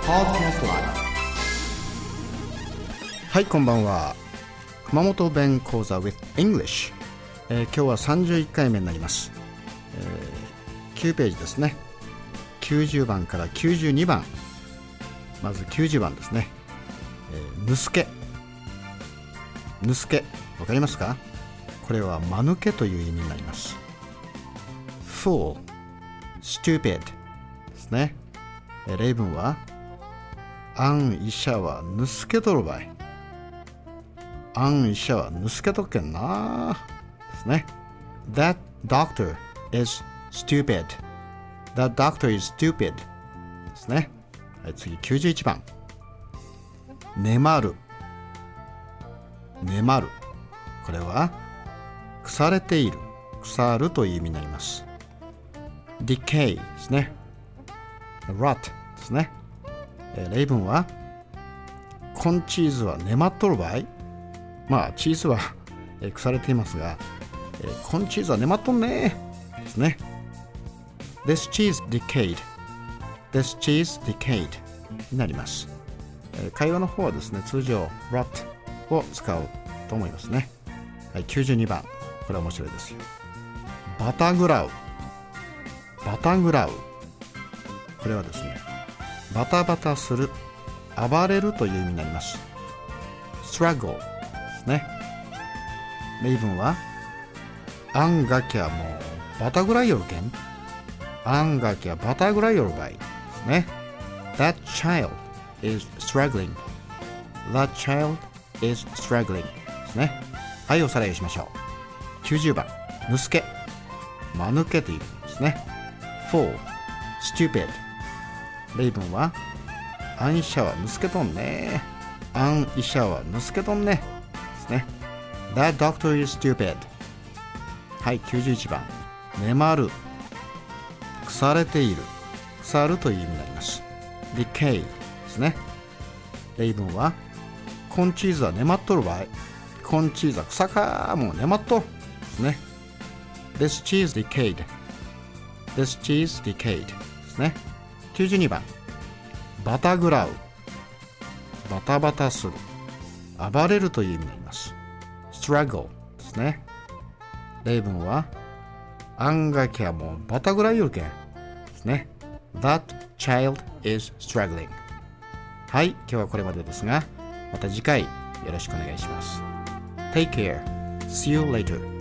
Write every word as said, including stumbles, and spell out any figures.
Podcast Live。 はい、こんばんは。熊本弁講座 with English、えー、今日はさんじゅういっかいめになります、えー、きゅうページですね。きゅうじゅうばんからきゅうじゅうにばん。まずきゅうじゅうばんですね。えー、ぬすけ。ぬすけ、わかりますか？これは間抜けという意味になります。fool、stupid ですね。えー、例文は、あん医者はぬすけとるばい。あん医者はぬすけとっけんなですね。That doctor is stupid. That doctor is stupid ですね。はい、次きゅうじゅういちばん。ねまる。ねまる。これは腐れている、腐るという意味になります。decay ですね。rot ですね。えー、例文は、コンチーズはねまっとる場合。まあチーズは、えー、腐れていますが、えー、コンチーズはねまっとんねですね。This cheese decayed. This cheese decayed になります。えー、会話の方はですね、通常 rot を使うと思いますね。はい、きゅうじゅうにばん。これは面白いですよ。バタグラウ。バタグラウ。これはですね、バタバタする、暴れるという意味になります。struggle ですね。例文は、あんがきゃもうバタぐらいよるけん。あんがきゃバタぐらいよるばいですね。That child is struggling. That child is struggling ですね。はい、おさらいしましょう。きゅうじゅうばん、ぬすけ。間抜けという意味ですね。fool、stupid。例文は、あん医者はぬすけとんね。あん医者はぬすけとんねですね。That doctor is stupid。はい、きゅうじゅういちばん。ねまる。腐れている。腐るという意味になります。decay ですね。例文は、コンチーズはねまっとる場合。コンチーズは草かもうねまっとるですね。This cheese decayed. This cheese decayed ですね。きゅうじゅうにばん。バタグラウ。バタバタする。暴れるという意味になります。struggle ですね。例文は、あんがきゃもうバタぐらいよるけんですね。That child is struggling。 はい、今日はこれまでですが、また次回よろしくお願いします。Take care. See you later.